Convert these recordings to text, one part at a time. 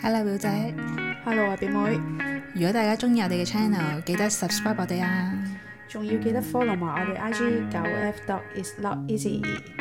Hello 表姐 Hello 啊表妹， 如果大家中意我哋嘅 channel， 記得 subscribe 我哋啊， 仲要記得 follow 埋我哋 IG 9F.is not easy。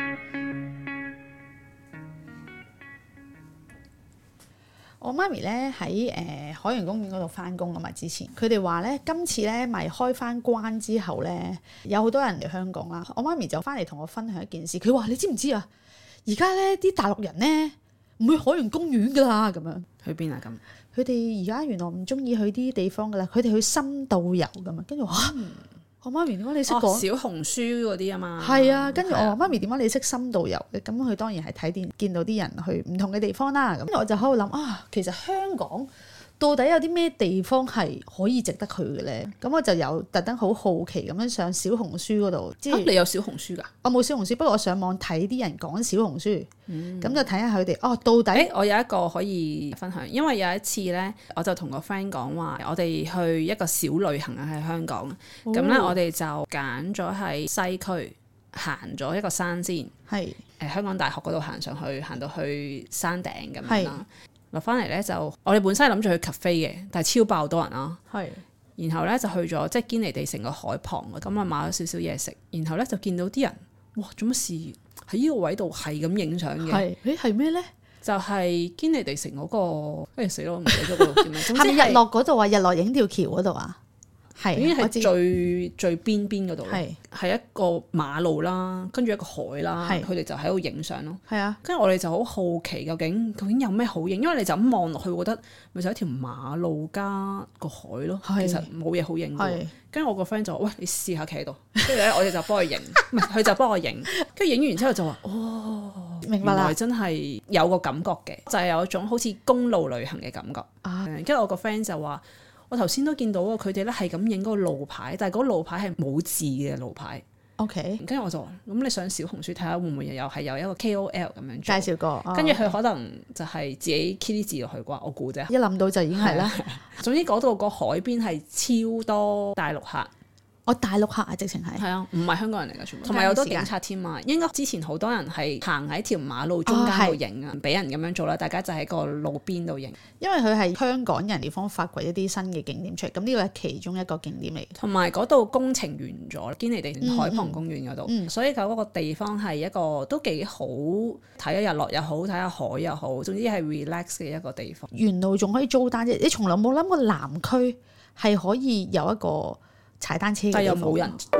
我媽咪咧喺海洋公園嗰度翻工啊嘛，之前佢哋話咧今次咧咪開翻關之後咧，有好多人嚟香港啦。我媽咪就翻嚟同我分享一件事，佢話你知唔知啊？而家咧啲大陸人咧唔去海洋公園噶啦，咁樣去邊啊？咁佢哋而家原來唔中意去啲地方噶啦，佢哋去深度遊噶嘛。跟住話我媽咪點解你識講小紅書嗰啲啊嘛？ 係啊，跟住我話媽咪點解你識深度遊嘅？咁佢當然係睇電見到啲人去唔同嘅地方啦。咁我就喺度諗啊，其實香港到底有啲咩地方係可以值得去嘅咧？咁我就有特登好好奇咁樣上小紅書嗰度，即係你有小紅書㗎？ 我冇小紅書，不過我上網睇啲人講小紅書，咁就睇下佢哋到底。 我有一個可以分享，因為有一次咧，我就同個 friend 講話，我哋去一個小旅行啊，喺香港。咁咧，我哋就揀咗喺西區行咗一個山先，係香港大學嗰度行上去，行到去山頂咁樣啦。落翻嚟咧就，我哋本身係諗住去 cafe 嘅，但係超爆多人啦。係，然後咧就去咗即係堅尼地城個海旁，咁啊買咗少少嘢食，然後咧就見到啲人，哇！做乜事喺呢個位度係咁影相嘅？ 係咩咧？ 就係堅尼地城嗰個，死咯，唔記得咗嗰度叫咩？ 係咪日落嗰度啊？日落影條橋嗰度啊？係， 已經係最邊嗰度，係一個馬路啦，跟住一個海啦，佢哋就喺度影相咯。係啊，跟住我哋就好好奇究竟有咩好影，因為你就咁望落去，覺得咪就一條馬路加個海咯，其實冇嘢好影嘅。跟住我個 friend 就話：喂，你試下企喺度。跟住咧，我哋就幫佢影，唔係佢就幫我影。跟住影完之後就話：哦，明白啦，原來真係有個感覺嘅，就係有一種好似公路旅行嘅感覺。跟住我個 friend 就話。我頭先都見到啊，佢哋咧係咁影嗰個路牌，但係嗰個路牌係冇字嘅路牌。OK，跟住我就話：咁你上小紅書睇下會唔會有一個 KOL 咁樣介紹過？跟住佢可能就係自己 key 啲字落去啩，我估啫。一諗到就已經係啦。總之嗰度個海邊係超多大陸客。大陸客啊，直情係啊，唔係香港人嚟㗎，全部同埋有好多警察添啊。應該之前好多人係行喺條馬路中間度影啊，唔俾人咁樣做啦。大家就喺個路邊度影，因為佢係香港人地方發掘一啲新嘅景點出嚟。咁呢個係其中一個景點嚟，同埋嗰度工程完咗，堅尼地城海旁公園嗰度，所以嗰個地方係一個都幾好睇下日落又好，睇下海又好，總之係 relax 嘅一個地方。沿路仲可以租單啫，你從來冇諗過南區係可以有一個踩單車嘅地方，但又冇人踩。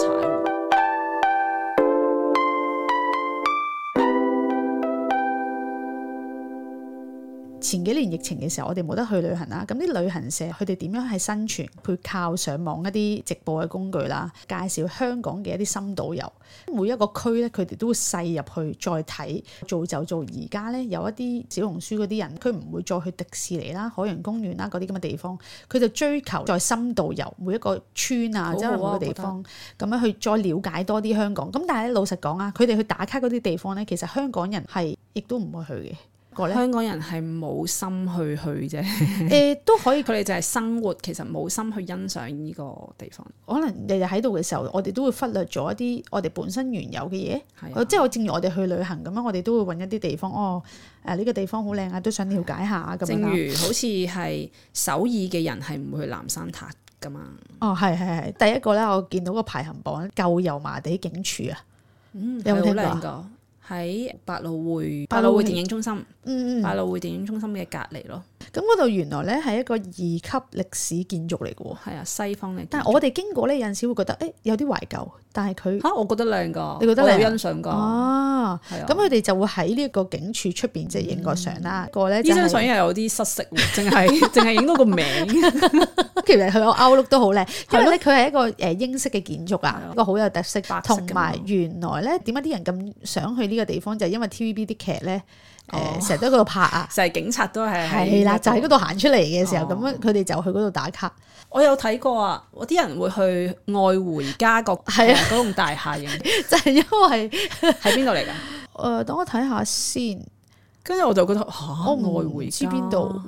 前幾年疫情嘅時候，我哋冇得去旅行啦。咁啲旅行社佢哋點樣係生存？佢靠上網一啲直播嘅工具啦，介紹香港嘅一啲深度遊。每一個區咧，佢哋都會細入去再睇，做而家咧有一啲小紅書嗰啲人，佢唔會再去迪士尼啦、海洋公園啦嗰啲咁嘅地方，佢就追求再深度遊每一個村啊，即係每個地方咁樣去再了解多啲香港。咁但係咧老實講啊，佢哋去打卡嗰啲地方咧，其實香港人係亦都唔會去嘅。香港人係冇心去啫，都可以，佢哋就係生活，其實冇心去欣賞呢個地方。可能日日喺度嘅時候，我哋都會忽略咗一啲我哋本身原有嘅嘢。即係我正如我哋去旅行咁樣，我哋都會揾一啲地方，呢個地方好靚啊，都想了解下咁樣。正如好似係首爾嘅人係唔會去南山塔噶嘛。係。第一個咧，我見到個排行榜舊油麻地警署啊，有冇聽過？喺百老匯電影中心，百老匯電影中心嘅隔離咯。咁嗰度原來咧係一個2級歷史建築嚟嘅喎。係啊，西方嘅。但係我哋經過咧有陣時會覺得有啲懷舊，但係佢我覺得靚㗎，你覺得靚？我有欣賞㗎。咁佢哋就會喺呢一個警署出邊即係影個相啦。個咧呢張相又有啲失色喎，淨係影到個名。其實佢個 outlook 都好靚，因為咧佢係一個英式嘅建築啊，一個好有特色。同埋原來咧點解啲人咁想去呢個地方，就係因為 TVB 啲劇咧。成日都喺嗰度拍啊，成日警察都係啦，就喺嗰度行出嚟嘅時候，咁樣佢哋就去嗰度打卡。我有睇過啊，我啲人會去愛回家嗰棟大廈影，就係因為喺邊度嚟㗎？等我睇下先。跟住我就覺得我唔知邊度，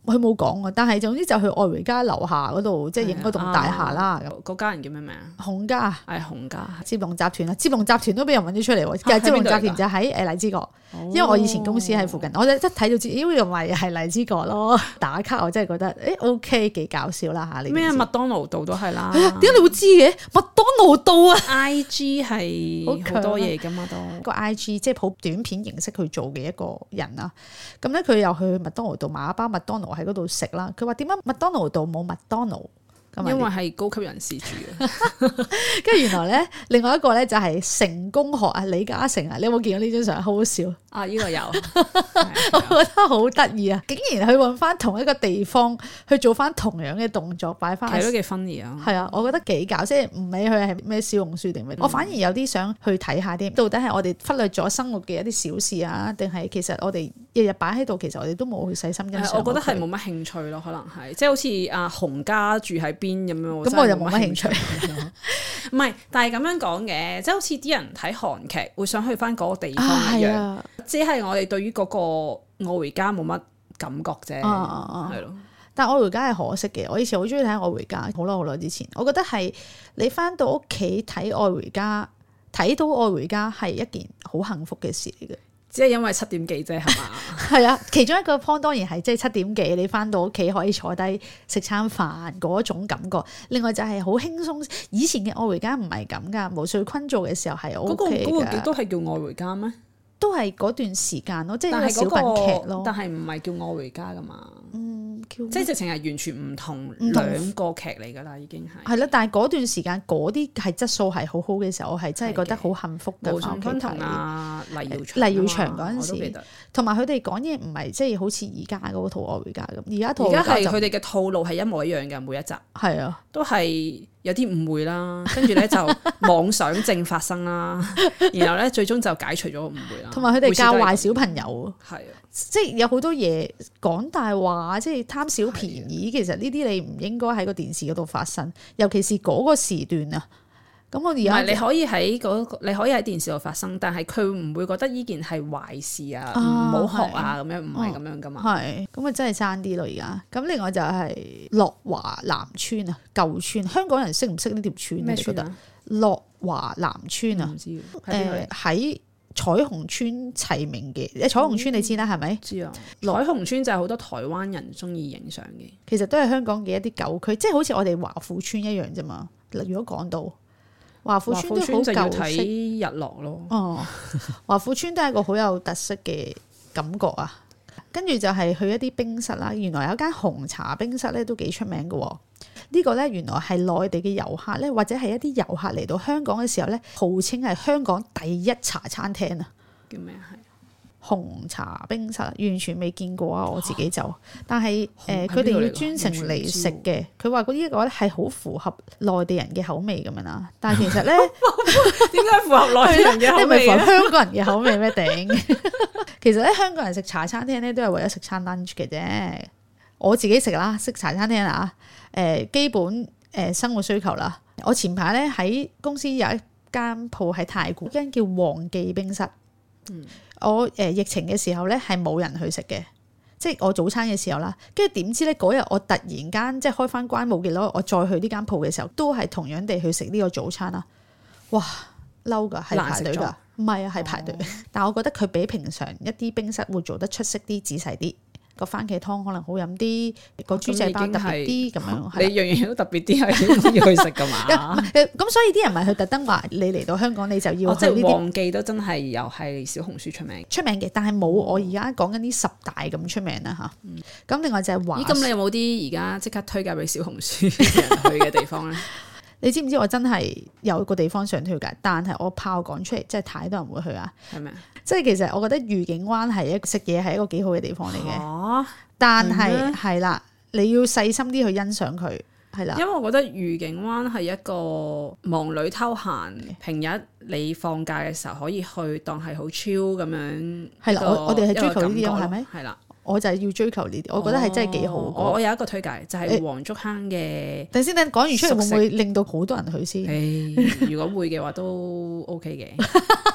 佢冇講啊，但係總之就去愛回家樓下嗰度，即係影嗰棟大廈啦。 嗰家人叫咩名啊？洪家， 係洪家， 接龍集團啊，接龍集團都俾人揾咗出嚟喎。其實接龍集團就喺荔枝角，因為我以前公司喺附近，我一睇就知，咦又咪係荔枝角咯。打卡我真係覺得OK 幾搞笑啦嚇！ 咩麥當勞道都係啦。 點解你會知嘅？麥當勞道啊 ！IG 係好多嘢㗎嘛都。 個 IG 即係好短片形式去做嘅一個人啦。咁咧佢又去麥當勞道買一包麥當勞喺嗰度食啦。佢話點解麥當勞道冇麥當勞？ 因為係高級人士住嘅。 跟住原來咧，另外一個咧就係成功學啊，李嘉誠啊，你有冇見過呢張相？好好笑啊！呢個有， 我覺得好得意啊！竟然去揾翻同一個地方去做翻同樣嘅動作，擺翻係都幾 funny 啊！ 係啊，我覺得幾搞，即係唔理佢係咩小紅書定咩，我反而有啲想去睇下啲，到底係我哋忽略咗生活嘅一啲小事啊，定係其實我哋日日擺喺度，其實我哋都冇去細心欣賞。 我覺得係冇乜興趣咯，可能係即係好似阿洪家住喺邊咁樣， 咁我就冇乜興趣。 唔係，但係咁樣講嘅，即係好似啲人睇韓劇會想去翻嗰個地方一樣，只係我哋對於嗰個愛回家冇乜感覺啫，係咯。 但愛回家係可惜嘅，我以前好中意睇愛回家，好耐之前，我覺得係你翻到屋企睇愛回家，睇到愛回家係一件好幸福嘅事嚟嘅。 只係因為7點幾啫，係嘛？ 係啊，其中一個 point 當然係即係7點幾，你翻到屋企可以坐低食餐飯嗰種感覺。另外就係好輕鬆，以前嘅愛回家唔係咁噶，毛遂坤做嘅時候係 OK 嘅。 嗰個都係叫愛回家咩？ 都係嗰段時間咯，即係小品劇咯。 但係唔係叫愛回家噶嘛？即係直情係完全唔同兩個劇嚟㗎啦，已經係。係啦， 但係嗰段時間嗰啲係質素係好好嘅時候，我係真係覺得好幸福嘅。 毛舜筠同阿黎耀祥嗰陣時，同埋佢哋講嘢唔係即係好似而家嗰套愛回家咁。而家係佢哋嘅套路係一模一樣嘅，每一集係啊， 都係有啲誤會啦，跟住咧就妄想症發生啦，然後咧最終就解除咗個誤會啦。 同埋佢哋教壞小朋友， 係啊， 即係有好多嘢講大話，即係貪小便宜。其實呢啲你唔應該喺個電視嗰度發生，尤其是嗰個時段啊。咁我而家你可以喺你可以喺電視度發生，但係佢唔會覺得呢件係壞事啊，唔好學啊咁樣，唔係咁樣噶嘛。係咁啊，真係爭啲咯而家。咁另外就係樂華南村啊，舊村，香港人識唔識呢條村？ 咩村啊？ 樂華南村啊， 唔知喺彩虹村齊名嘅。彩虹村你知啦，係咪？ 知啊。彩虹村就係好多台灣人中意影相嘅， 其實都係香港嘅一啲舊區，即係好似我哋華富村一樣啫嘛。如果講到華富村都好舊式， 睇日落咯。 哦，華富村都係一個好有特色嘅感覺啊。跟住就係去一啲冰室啦。原來有間紅茶冰室咧都幾出名嘅。呢個咧原來係內地嘅遊客咧，或者係一啲遊客嚟到香港嘅時候咧，號稱係香港第一茶餐廳啊。 叫咩係？ 紅茶冰室完全未見過啊！我自己就，但係佢哋要專程嚟食嘅。佢話嗰啲個咧係好符合內地人嘅口味咁樣啦。但係其實咧， 點解符合內地人嘅口味？ 你咪符合香港人嘅口味咩？頂！其實咧，香港人食茶餐廳咧都係為咗食餐 lunch 嘅啫。我自己食啦，食茶餐廳啦，基本生活需求啦。我前排咧喺公司有一間鋪喺太古，間叫黃記冰室。我疫情嘅時候咧係冇人去食嘅，即係我早餐嘅時候啦。跟住點知咧嗰日我突然間即係開翻關冇幾耐，我再去呢間鋪嘅時候，都係同樣地去食呢個早餐啦。哇，嬲㗎，係排隊㗎，唔係啊，係排隊。但係我覺得佢比平常一啲冰室會做得出色啲、仔細啲。個番茄湯可能好飲啲，個豬仔包特別啲咁樣。 你樣樣都特別啲，係要去食㗎嘛？ 咁所以啲人咪去特登話你嚟到香港你就要去呢啲。黃記都真係又係小紅書出名嘅，但係冇我而家講緊啲10大咁出名啦嚇。咁另外就係咁你有冇啲而家即刻推介俾小紅書人去嘅地方咧？ 你知唔知我真係有個地方想推介，但係我怕我講出嚟真係太多人會去啊。 係咪？ 即係其實我覺得愉景灣係食嘢係一個幾好嘅地方嚟嘅，但係係啦，你要細心啲去欣賞佢，係啦。 因為我覺得愉景灣係一個忙裏偷閒，平日你放假嘅時候可以去當係好 chill 咁樣。係啦， 我哋係追求呢啲係咪？ 係啦， 我就係要追求呢啲，我覺得係真係幾好。 我有一個推介就係黃竹坑嘅。 等先，講完出嚟會唔會令到好多人去先？ 如果會嘅話都 OK 嘅。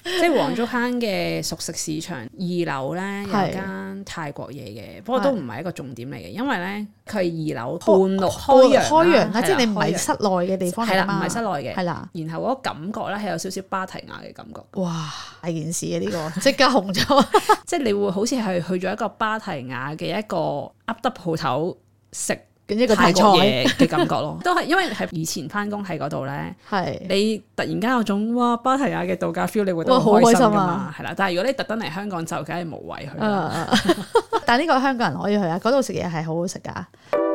即係黃竹坑嘅熟食市場2樓咧有間泰國嘢嘅，不過都唔係一個重點嚟嘅，因為咧佢係2樓半路開揚啦， 即係你唔係室內嘅地方嚟嘛， 唔係室內嘅， 係啦。 然後嗰個感覺咧係有少少芭提雅嘅感覺。 哇！大件事啊呢個，即刻紅咗， 即係你會好似係去咗一個芭提雅嘅一個噏得鋪頭食一個泰國嘢嘅感覺咯，都係因為係以前翻工喺嗰度咧， 係你突然間有種哇芭提雅嘅度假 feel， 你會覺得好開心㗎嘛，係啦。但係如果你特登嚟香港就梗係無謂去啦。 但係呢個香港人可以去啊，嗰度食嘢係好好食㗎。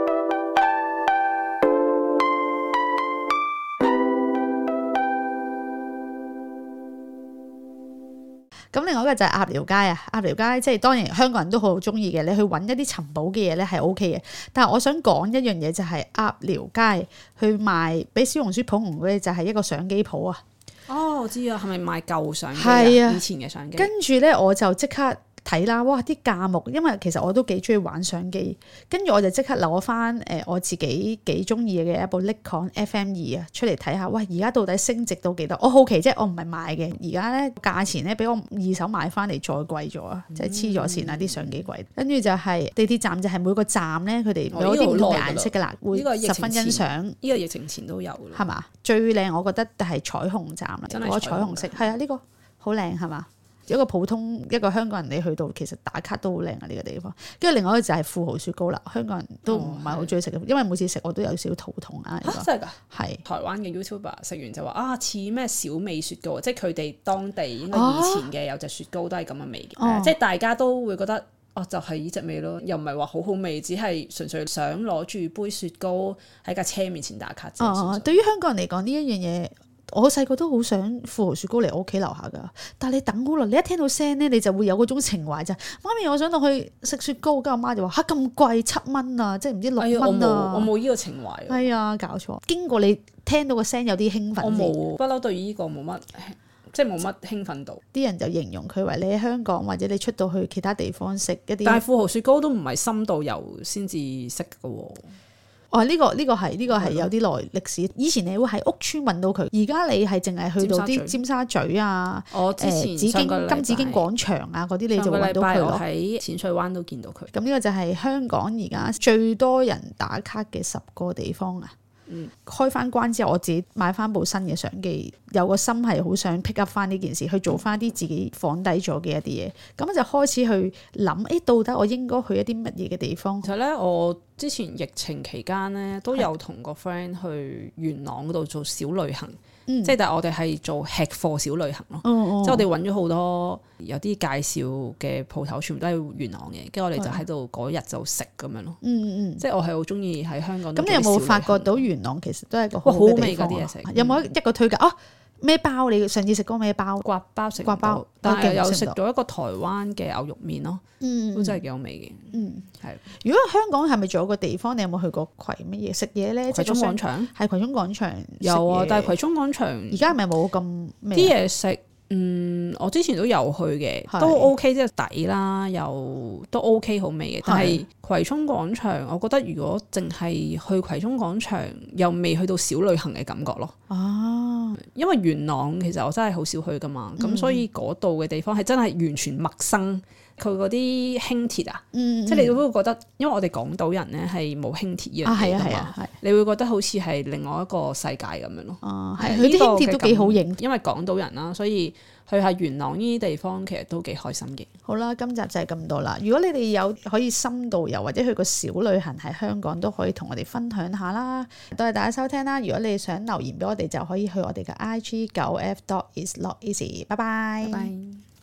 咁另外一個就係鴨寮街啊，鴨寮街即係當然香港人都好中意嘅，你去揾一啲尋寶嘅嘢咧係 OK 嘅。但係我想講一樣嘢就係鴨寮街去賣俾小紅書捧紅嗰啲就係一個相機鋪啊。 哦，我知啊，係咪賣舊相機係啊， 以前嘅相機。 跟住咧我就即刻睇啦，哇！啲價目，因為其實我都幾中意玩相機，跟住我就即刻攞翻我自己幾中意嘅一部 Nikon FM2啊出嚟睇下，喂！而家到底升值到幾多？我好奇即係我唔係買嘅，而家咧價錢咧比我二手買翻嚟再貴咗啊！即係黐咗線啊啲相機貴。跟住就係地鐵站就係每個站咧佢哋有啲唔同嘅顏色㗎啦，會十分欣賞。 呢個疫情前都有㗎， 係嘛？最靚我覺得係彩虹站啦， 真係嗰個彩虹色係啊，呢個好靚係嘛？一個普通一個香港人你去到其實打卡都好靚啊呢個地方，跟住另外一個就係富豪雪糕啦，香港人都唔係好中意食嘅，因為每次食我都有少少肚痛啊。 真係㗎？係係台灣嘅 YouTuber 食完就話啊似咩小美雪糕，即係佢哋當地應該以前嘅有隻雪糕都係咁嘅味嘅，即係大家都會覺得哦就係呢隻味咯，又唔係話好好味，只係純粹想攞住杯雪糕喺架車面前打卡啫。 對於香港人嚟講呢一樣嘢。我細個都好想富豪雪糕嚟我屋企樓下㗎，但係你等好耐，你一聽到聲咧，你就會有嗰種情懷就媽咪，我想落去食雪糕，跟住我媽就話嚇咁貴7蚊啊，即係唔知6蚊啊。 我冇呢個情懷。 係啊，搞錯。經過你聽到個聲有啲興奮。 我冇不嬲對呢個冇乜，即係冇乜興奮度。 啲人就形容佢為你喺香港或者你出到去其他地方食一啲。 但係富豪雪糕都唔係深度遊先至識㗎喎。 哦，呢個係有啲耐歷史。以前你會喺屋村揾到佢，而家你係淨係去到啲尖沙咀啊， 之前金紫荊廣場啊嗰啲，你就會揾到佢咯。 喺淺水灣都見到佢。 咁呢個就係香港而家最多人打卡嘅10個地方啊！開翻關之後，我自己買翻部新嘅相機，有個心係好想 pick up 翻呢件事，去做翻啲自己放低咗嘅一啲嘢。咁就開始去諗，到底我應該去一啲乜嘢嘅地方？ 其實咧，我之前疫情期間咧都有同個 friend 去元朗嗰度做小旅行。即係但係我哋係做吃貨小旅行咯，即係我哋揾咗好多有啲介紹嘅鋪頭，全部都係元朗嘅，跟住我哋就喺度嗰日就食咁樣咯。即係我係好中意喺香港。咁你有冇發覺到元朗其實都係一個好味嗰啲嘢食？有冇一個推介啊？咩包？你上次食過咩包？刮包食，刮包，但係有食到一個台灣嘅牛肉麵咯，都真係幾好味嘅。係。如果香港係咪仲有個地方？你有冇去過葵乜嘢食嘢咧？ 葵涌廣場係葵涌廣場有啊，但係葵涌廣場而家係咪冇咁啲嘢食？我之前都有去嘅，都 OK， 即係抵啦，又都 OK 好味嘅。但係葵涌廣場，我覺得如果淨係去葵涌廣場，又未去到小旅行嘅感覺咯。因為元朗其實我真係好少去噶嘛，咁所以嗰度嘅地方係真係完全陌生。佢嗰啲輕鐵啊，即係你都會覺得，因為我哋港島人咧係冇輕鐵呢樣嘢㗎嘛，你會覺得好似係另外一個世界咁樣咯。係佢啲輕鐵都幾好影，因為港島人啦，所以去下元朗呢啲地方其實都幾開心嘅。好啦，今集就係咁多啦。如果你哋有可以深度遊或者去個小旅行喺香港，都可以同我哋分享下啦。多謝大家收聽啦。如果你想留言俾我哋，就可以去我哋嘅IG9f.isnoteasy。拜拜。